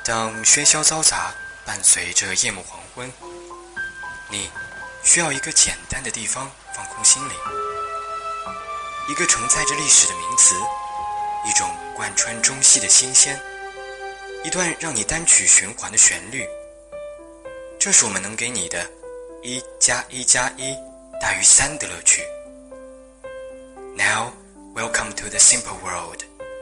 当喧嚣嘈杂伴随着夜幕黄昏，你需要一个简单的地方放空心灵，一个承载着历史的名词，一种贯穿中西的新鲜，一段让你单曲循环的旋律。这是我们能给你的1+1+1大于3的乐趣。Now, welcome to the simple world.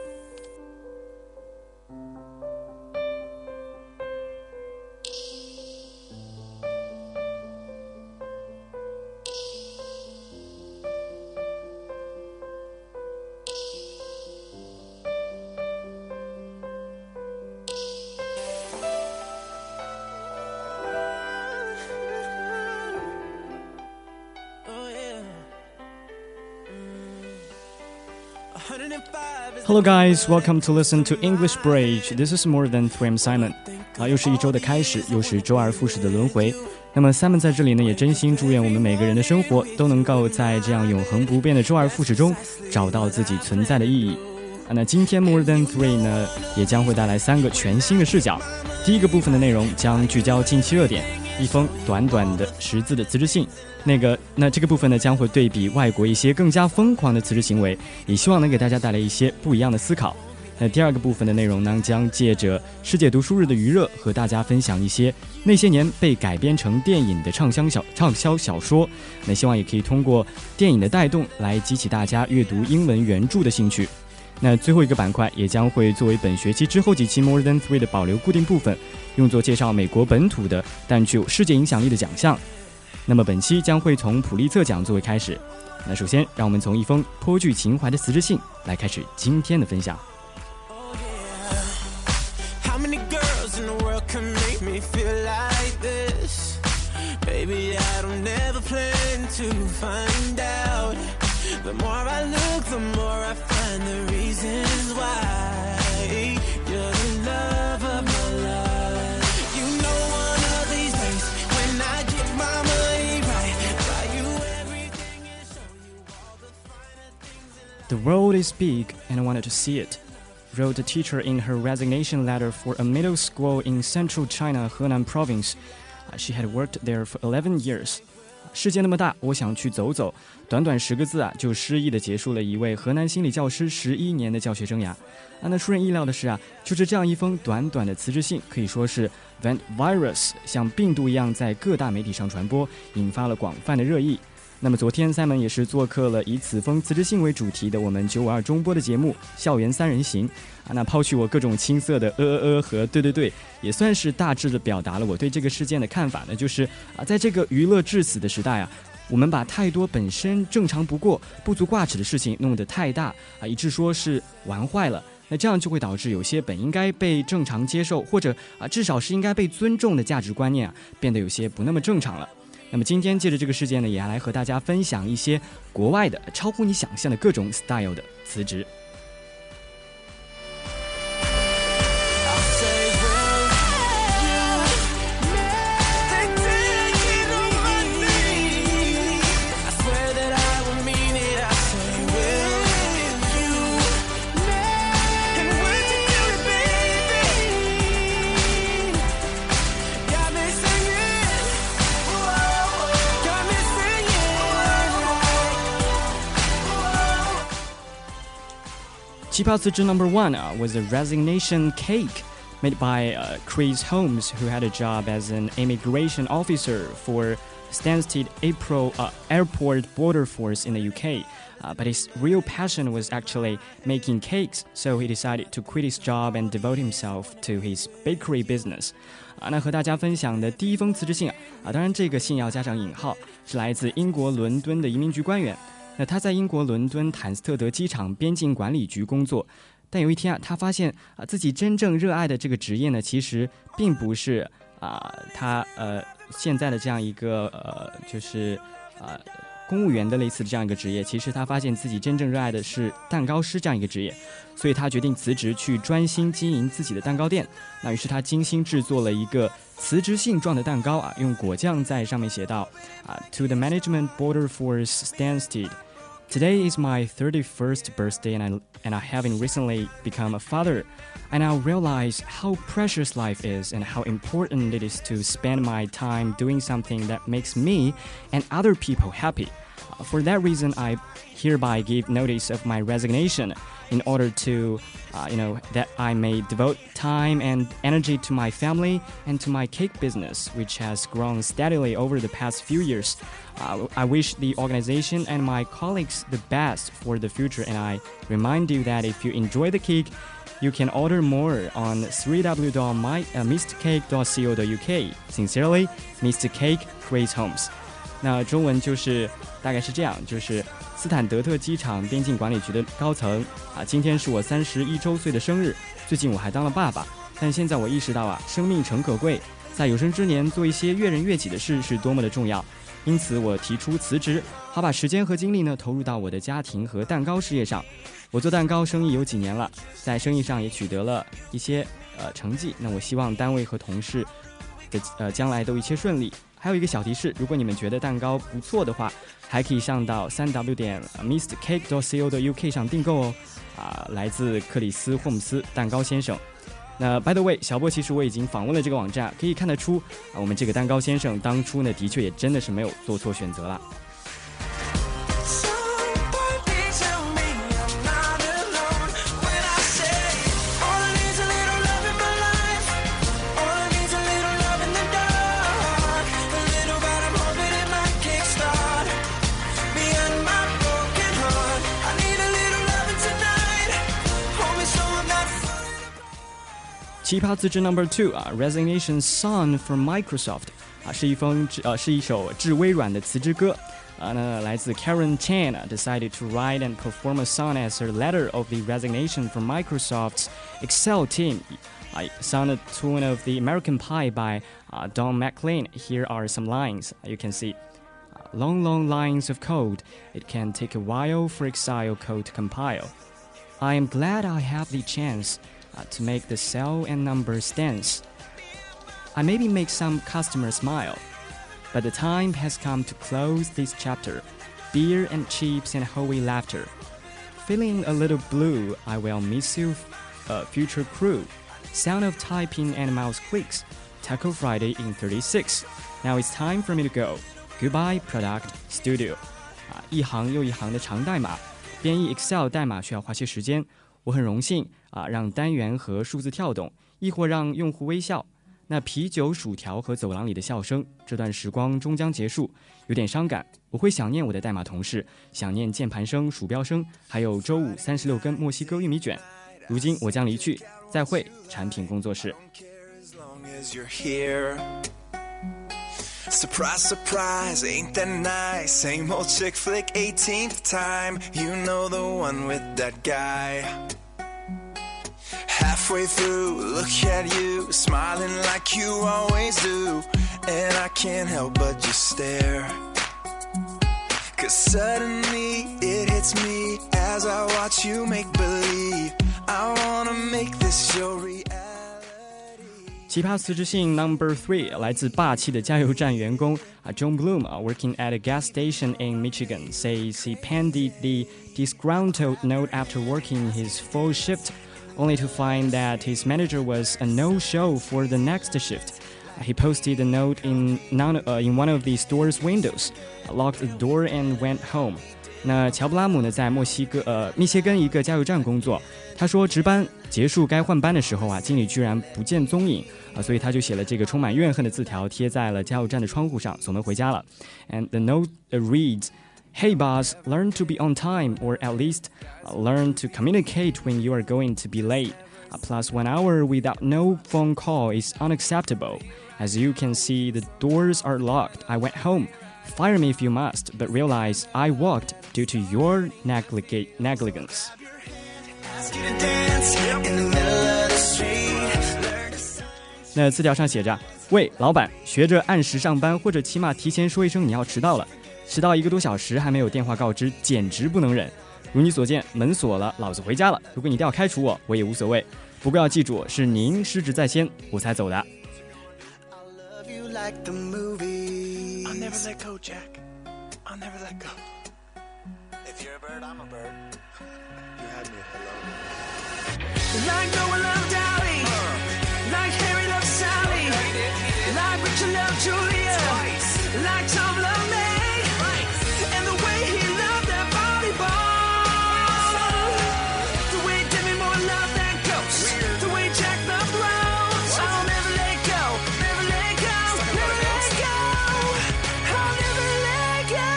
Hello guys, welcome to listen to English Bridge. This is more than 3M Simon. 又是一周的开始，又是周而复始的轮回。那么 Simon 在这里呢，也真心祝愿我们每个人的生活都能够在这样永恒不变的周而复始中找到自己存在的意义。那今天 More than 3呢，也将会带来3个全新的视角。第一个部分的内容将聚焦近期热点，一封短短的10字的辞职信。那这个部分呢，将会对比外国一些更加疯狂的辞职行为，也希望能给大家带来一些不一样的思考。那第二个部分的内容呢，将借着世界读书日的余热，和大家分享一些那些年被改编成电影的畅销小说。那希望也可以通过电影的带动，来激起大家阅读英文原著的兴趣。那最后一个板块也将会作为本学期之后几期 More Than 3的保留固定部分，用作介绍美国本土的但具有世界影响力的奖项。那么本期将会从普利策奖作为开始。那首先让我们从一封颇具情怀的辞职信来开始今天的分享。 Baby, I don't never plan to find out. The more I look, the more I find the reasons why. You're the love of my life. You know one of these days, when I get my money right, buy you everything and show you all the finer things in life. The world is big and I wanted to see it, wrote a teacher in her resignation letter for a middle school in central China, Henan province.She had worked there for 11 years. 世界那么大，我想去走走。短短10个字就诗意地结束了一位河南心理教师11年的教学生涯。那出人意料的是就是这样一封短短的辞职信，可以说是 went virus， 像病毒一样在各大媒体上传播，引发了广泛的热议。那么昨天 Simon 也是做客了以此封辞职信为主题的我们952中播的节目《校园3人行》那抛去我各种青涩的和对，也算是大致的表达了我对这个事件的看法呢，就是在这个娱乐至死的时代我们把太多本身正常不过、不足挂齿的事情弄得太大以致说是玩坏了。那这样就会导致有些本应该被正常接受，或者至少是应该被尊重的价值观念变得有些不那么正常了。那么今天借着这个事件呢，也来和大家分享一些国外的超乎你想象的各种 style 的辞职。奇葩辞职 number 1 was a resignation cake made by Chris Holmes, who had a job as an immigration officer for Stansted Airport Border Force in the UK. But his real passion was actually making cakes, so he decided to quit his job and devote himself to his bakery business. 那和大家分享的第一封辞职信当然这个信要加上引号，是来自英国伦敦的移民局官员。那他在英国伦敦坦斯特德机场边境管理局工作，但有一天他发现自己真正热爱的这个职业呢，其实并不是他现在的这样一个就是公务员的类似的这样一个职业，其实他发现自己真正热爱的是蛋糕师这样一个职业，所以他决定辞职去专心经营自己的蛋糕店。那于是他精心制作了一个辞职信状的蛋糕用果酱在上面写道To the Management Border Force Stansted Today is my 31st birthday and I haven't recently become a father. I now realize how precious life is and how important it is to spend my time doing something that makes me and other people happy. For that reason, I hereby give notice of my resignation in order to, that I may devote time and energy to my family and to my cake business, which has grown steadily over the past few years. I wish the organization and my colleagues the best for the future, and I remind you that if you enjoy the cake, you can order more on www.mrcake.co.uk. Sincerely, Mr. Cake Creates Homes. 那中文就是大概是这样，就是斯坦德特机场边境管理局的高层今天是我31周岁的生日。最近我还当了爸爸，但现在我意识到生命诚可贵，在有生之年做一些悦人悦己的事是多么的重要。因此我提出辞职，好把时间和精力呢投入到我的家庭和蛋糕事业上。我做蛋糕生意有几年了，在生意上也取得了一些成绩。那我希望单位和同事的将来都一切顺利。还有一个小提示，如果你们觉得蛋糕不错的话，还可以上到3w.mrcake.co.uk 上订购哦。来自克里斯霍姆斯蛋糕先生。那 by the way， 小波其实我已经访问了这个网站，可以看得出我们这个蛋糕先生当初呢的确也真的是没有做错选择了。奇葩资质 No.2 Resignation Song from Microsoft 是一首致微软的辞职歌那来自 Karen Chan decided to write and perform a song as her letter of the resignation from Microsoft's Excel team. Sung the tune of the American Pie by Don McLean. Here are some lines you can see. Long, long lines of code. It can take a while for Excel code to compile. I am glad I have the chance to make the cell and numbers dance. I maybe make some customers smile, but the time has come to close this chapter. Beer and chips and holy laughter. Feeling a little blue, I will miss you, future crew. Sound of typing and mouse clicks. Taco Friday in 36. Now it's time for me to go. Goodbye, Product Studio. 一行又一行的长代码，编译 Excel 代码需要花些时间。我很荣幸让单元和数字跳动，亦或让用户微笑。那啤酒、薯条和走廊里的笑声，这段时光终将结束，有点伤感。我会想念我的代码同事，想念键盘声、鼠标声，还有周五36根墨西哥玉米卷。如今我将离去，再会，产品工作室。 Surprise, surprise, ain't that nice? Same old chick flick, 18th time. You know the one with that guy. Halfway through, look at you, smiling like you always do. And I can't help but just stare. Cause suddenly it hits me as I watch you make believe. I wanna make this your reality. 奇葩辞职信 No.3 来自霸气的加油站员工John Bloom working at a gas station in Michigan says he penned the disgruntled note after working his full shift, only to find that his manager was a no-show for the next shift. He posted the note in one of the store's windows, locked the door and went home. 那乔布拉姆呢，在密歇根一个加油站工作。他说值班结束该换班的时候经理居然不见踪影所以他就写了这个充满怨恨的字条贴在了加油站的窗户上，锁门回家了。And the note reads, Hey boss, learn to be on time, or at least learn to communicate when you are going to be late. Plus 1 hour without no phone call is unacceptable. As you can see, the doors are locked. I went home. Fire me if you must, but realize I walked due to your negligence. 那字条上写着：喂，老板，学着按时上班，或者起码提前说一声你要迟到了。迟到1个多小时还没有电话告知，简直不能忍。如你所见，门锁了，老子回家了。如果你一定要开除我，我也无所谓。不过要记住，是您失职在先，我才走的。 Like the movie. I'll never let go, Jack. I'll never let go. If you're Like Noah loved Dolly, like Harry loved Sally, like Richard loved Julia, like Tom loved May, and the way he loved that volleyball, the way Demi Moore loved that ghost, the way Jack loved Rose. I'll never let go, never let go, never let go. I'll never let go.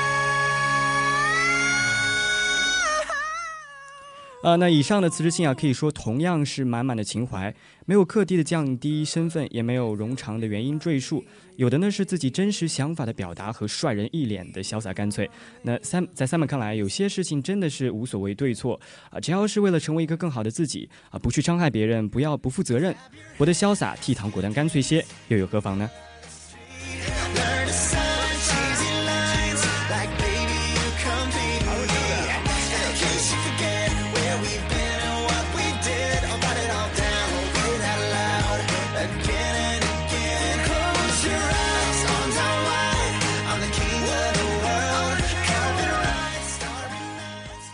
那以上的辞职信啊，可以说同样是满满的情怀，没有刻意的降低身份，也没有冗长的原因赘述，有的呢是自己真实想法的表达和帅人一脸的潇洒干脆。那在Simon看来，有些事情真的是无所谓对错啊，只要是为了成为一个更好的自己啊，不去伤害别人，不要不负责任，活得潇洒，倜傥果断干脆些，又有何妨呢？ Learn to sign cheesy lines like baby you complete me. In case you forget where we've been and what we did, I'll write it all down, read it out loud again and again. Close your eyes, arms out wide. I'm the king of the world. Carpet rides, starry nights.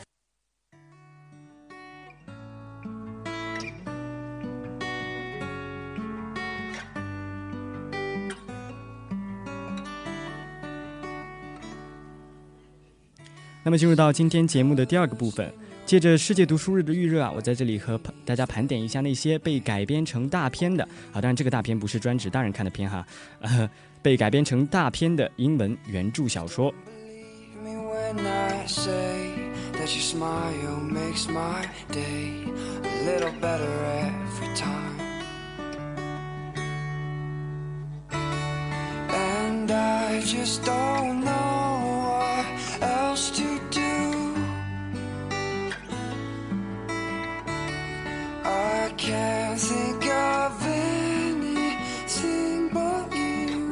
那么进入到今天节目的第二个部分，借着世界读书日的预热啊，我在这里和大家盘点一下那些被改编成大片的啊，当然这个大片不是专指大人看的片哈，被改编成大片的英文原著小说。 Me when I say that your smile makes my day a little better every time. And I just don't know what else to do. I can't think of anything but you.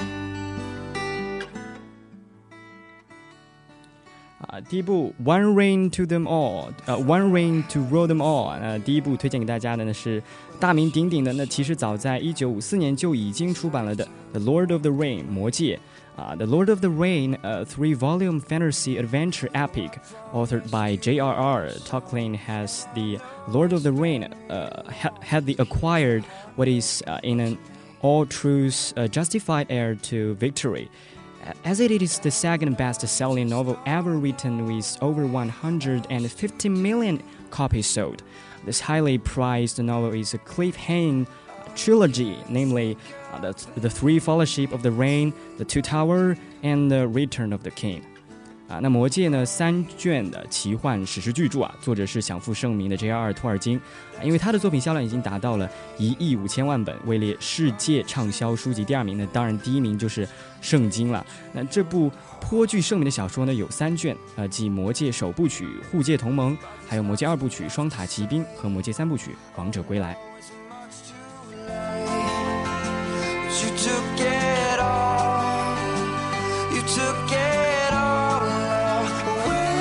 第一部 One Rain to Them All，One Rain to Rule Them All。第一部推荐给大家的呢是大名鼎鼎的，那其实早在1954年就已经出版了的 The Lord of the Ring 魔戒。The Lord of the Ring, a 3-volume fantasy adventure epic authored by J.R.R. Tolkien, has the Lord of the Ring had the acquired what is in an all truths justified heir to victory. As it is the second best-selling novel ever written with over 150 million copies sold, this highly prized novel is a cliff-hanging trilogy, namely the Three Fellowship of the Ring, The Two Tower, and The Return of the King. 那魔戒呢3卷的奇幻史诗巨著啊，作者是享负盛名的 J.R.R. 托尔金，因为他的作品销量已经达到了1亿5千万本，位列世界畅销书籍第2名呢。当然第1名就是圣经了。那这部颇具盛名的小说呢有3卷，即魔戒首部曲护戒同盟，还有魔戒2部曲双塔奇兵和魔戒3部曲王者归来。 You took it all. You took it all away.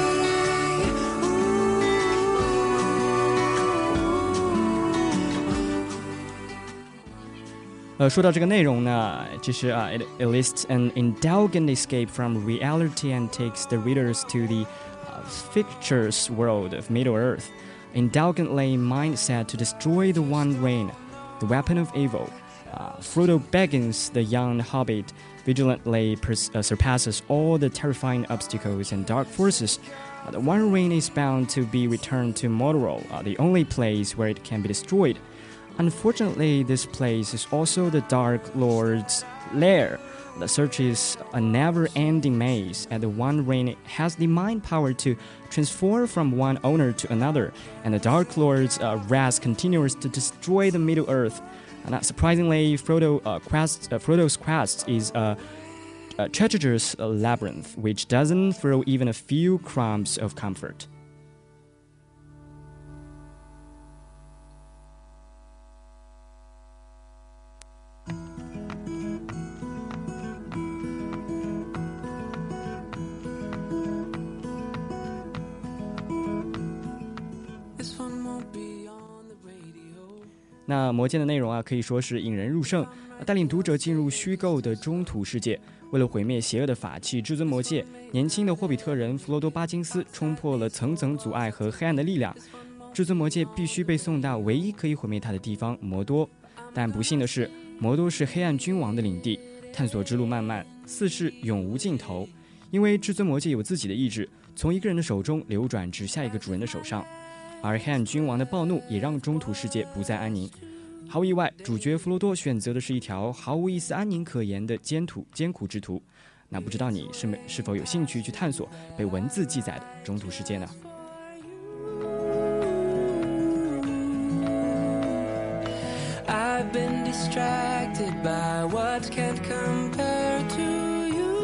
Ooh. 说到这个内容呢，这是it lists an indulgent escape from reality and takes the readers to the fictitious world of Middle-earth. Indulgently mindset to destroy the One Ring, the weapon of evil. Frodo Baggins, the young hobbit, vigilantly surpasses all the terrifying obstacles and dark forces. The One Ring is bound to be returned to Mordor, the only place where it can be destroyed. Unfortunately, this place is also the Dark Lord's lair. The search is a never-ending maze, and the One Ring has the mind power to transform from one owner to another, and the Dark Lord's wrath continues to destroy the Middle-earth. Not surprisingly, Frodo's quest is a treacherous labyrinth, which doesn't throw even a few crumbs of comfort. 那魔戒的内容啊，可以说是引人入胜，带领读者进入虚构的中土世界。为了毁灭邪恶的法器至尊魔戒，年轻的霍比特人弗罗多·巴金斯冲破了层层阻碍和黑暗的力量， 至尊魔戒必须被送到唯一可以毁灭他的地方魔多。但不幸的是，魔多是黑暗君王的领地，探索之路漫漫，似是永无尽头。因为至尊魔戒有自己的意志，从一个人的手中流转至下一个主人的手上，而黑暗君王的暴怒也让中土世界不再安宁。毫无意外，主角弗罗多选择的是一条毫无一丝安宁可言的艰苦之途。那不知道你是否有兴趣去探索被文字记载的中土世界呢 ？I've been distracted by what can't compare to you,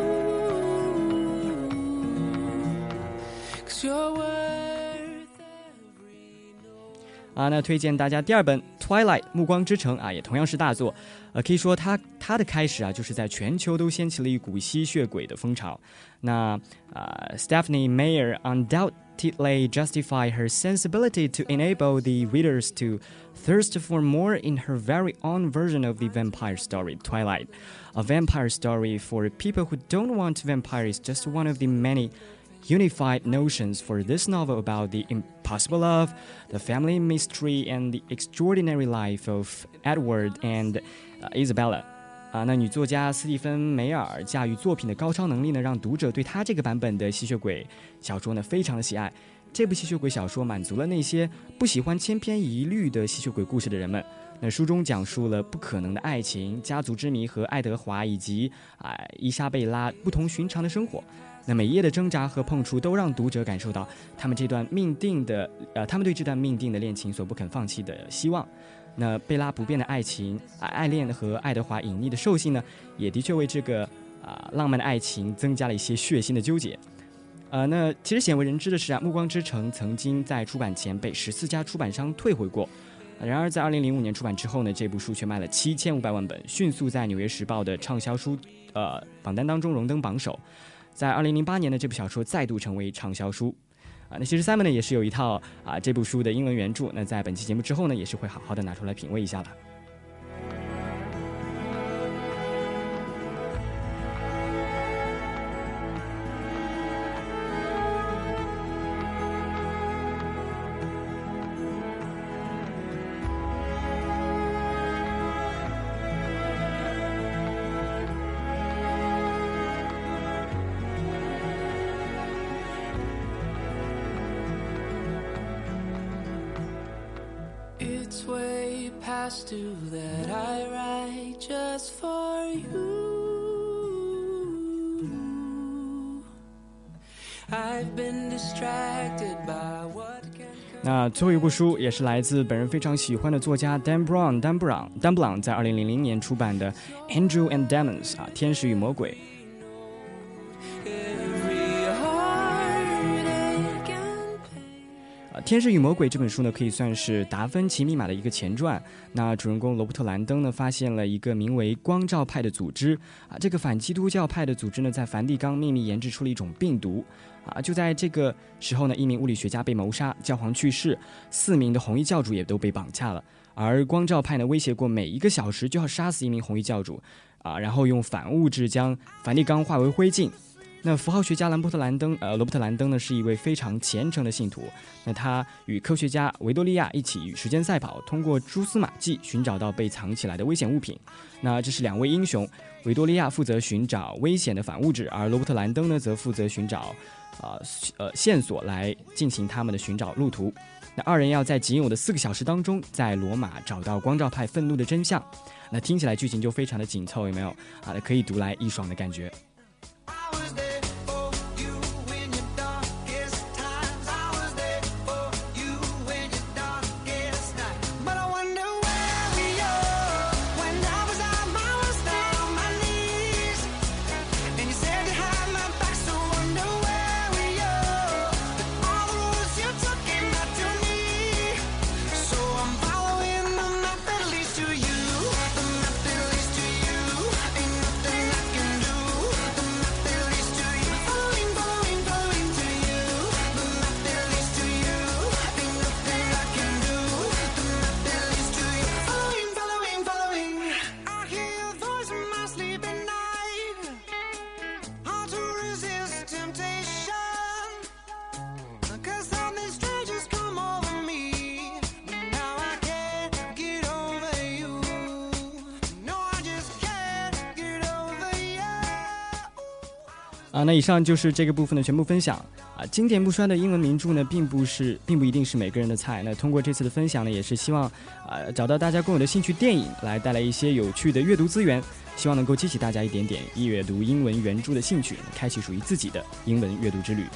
'cause you're worth every note. 那推荐大家第二本 Twilight 暮光之城也同样是大作。可以说它的开始就是在全球都掀起了一股吸血鬼的风潮。那Stephanie Meyer undoubtedly justified her sensibility to enable the readers to thirst for more in her very own version of the vampire story, Twilight. A vampire story for people who don't want vampires, just one of the many unified notions for this novel about the impossible love, the family mystery, and the extraordinary life of Edward and Isabella. 那女作家斯蒂芬梅尔驾驭作品的高超能力呢，让读者对她这个版本的吸血鬼小说呢非常的喜爱。这部吸血鬼小说满足了那些不喜欢千篇一律的吸血鬼故事的人们。那书中讲述了不可能的爱情、家族之谜和爱德华以及伊莎贝拉不同寻常的生活。那每一页的挣扎和碰触都让读者感受到他们对这段命定的恋情所不肯放弃的希望。那贝拉不变的爱情、爱恋和爱德华隐匿的兽性呢，也的确为这个浪漫的爱情增加了一些血腥的纠结。那其实鲜为人知的是暮光之城曾经在出版前被14家出版商退回过。然而在2005年出版之后呢，这部书却卖了7500万本，迅速在纽约时报的畅销书榜单当中荣登榜首。在2008年呢，这部小说再度成为畅销书。那其实 Simon 呢也是有一套这部书的英文原著，那在本期节目之后呢，也是会好好的拿出来品味一下了。 It's way past due that I write just for you. I've been distracted by what can. 那最后一部书也是来自本人非常喜欢的作家 Dan Brown 在2000年出版的 Angel and Demons 天使与魔鬼。天使与魔鬼这本书呢，可以算是达芬奇密码的一个前传。那主人公罗伯特兰登呢，发现了一个名为光照派的组织这个反基督教派的组织呢，在梵蒂冈秘密研制出了一种病毒就在这个时候呢，一名物理学家被谋杀，教皇去世，4名的红衣教主也都被绑架了。而光照派呢，威胁过每1个小时就要杀死1名红衣教主然后用反物质将梵蒂冈化为灰烬。那符号学家罗伯特兰登呢，是一位非常虔诚的信徒。那他与科学家维多利亚一起与时间赛跑，通过蛛丝马迹寻找到被藏起来的危险物品。那这是2位英雄，维多利亚负责寻找危险的反物质，而罗伯特兰登呢，则负责寻找线索来进行他们的寻找路途。那2人要在仅有的4个小时当中，在罗马找到光照派愤怒的真相。那听起来剧情就非常的紧凑，有没有可以读来一爽的感觉。 那以上就是这个部分的全部分享经典不衰的英文名著呢，并不一定是每个人的菜。那通过这次的分享呢，也是希望找到大家共有的兴趣电影，来带来一些有趣的阅读资源，希望能够激起大家一点点阅读英文原著的兴趣，开启属于自己的英文阅读之旅。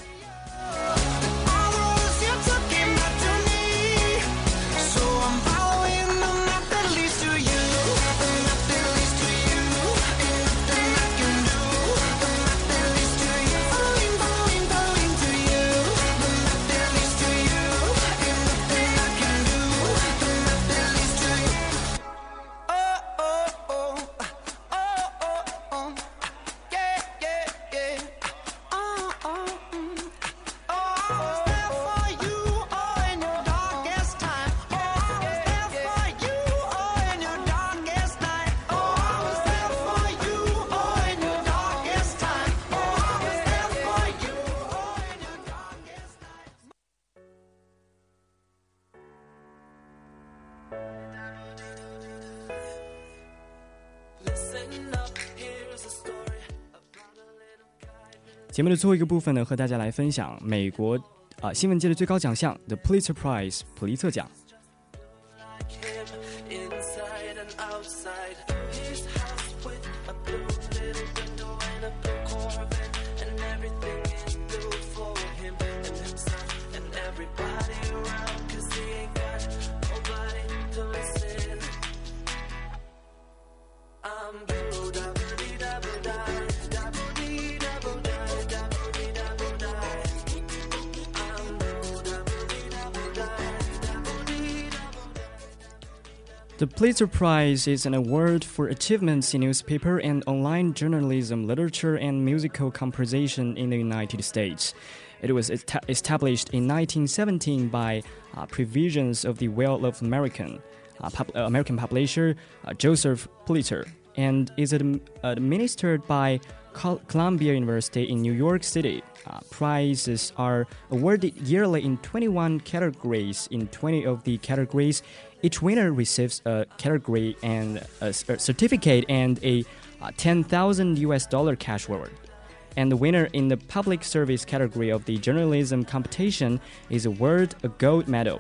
节目的最后一个部分呢，和大家来分享美国新闻界的最高奖项 The Pulitzer Prize 普利策奖。The Pulitzer Prize is an award for achievements in newspaper and online journalism, literature, and musical composition in the United States. It was established in 1917 by provisions of the well-off American publisher Joseph Pulitzer, and is administered by Columbia University in New York City. Prizes are awarded yearly in 21 categories. In 20 of the categories, each winner receives a category and a certificate and a $10,000 cash reward. And the winner in the public service category of the journalism competition is awarded a gold medal.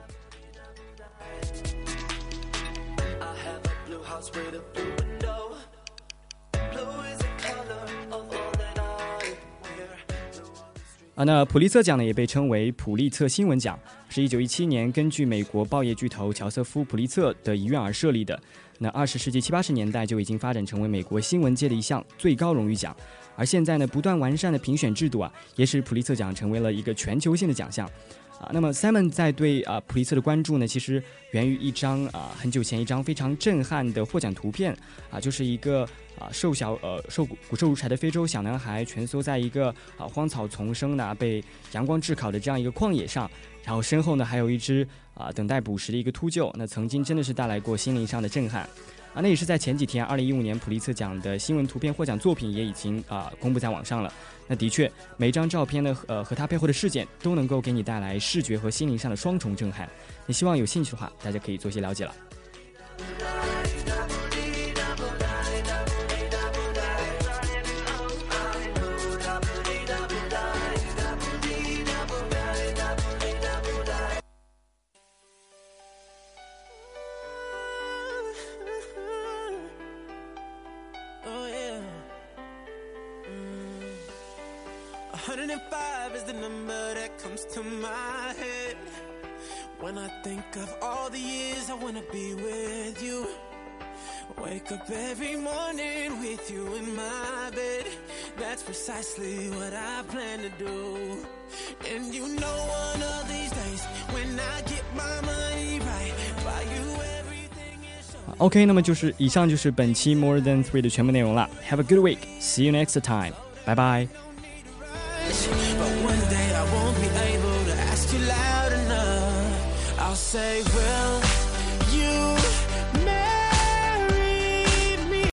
那普利策奖呢，也被称为普利策新闻奖，是1917年根据美国报业巨头乔瑟夫·普利策的遗愿而设立的。那20世纪70、80年代就已经发展成为美国新闻界的一项最高荣誉奖，而现在呢，不断完善的评选制度也使普利策奖成为了一个全球性的奖项。那么 Simon 在对普利策的关注呢，其实源于一张很久前一张非常震撼的获奖图片就是一个骨瘦如柴的非洲小男孩蜷缩在一个荒草丛生被阳光炙烤的这样一个旷野上，然后身后呢还有一只等待捕食的一个秃鹫，那曾经真的是带来过心灵上的震撼。那也是在前几天2015年普利策奖的新闻图片获奖作品也已经公布在网上了。那的确每一张照片呢和它背后的事件都能够给你带来视觉和心灵上的双重震撼。你希望有兴趣的话，大家可以做些了解了。 105 is the number that comes to my head when I think of all the years I wanna be with you. Wake up every morning with you in my bed. That's precisely what I plan to do. And you know one of these days when I get my money right, buy you everything is so. OK， 那么以上就是本期 More Than 3的全部内容了。Have a good week. See you next time. Bye bye. But one day I won't be able to ask you loud enough. I'll say, well,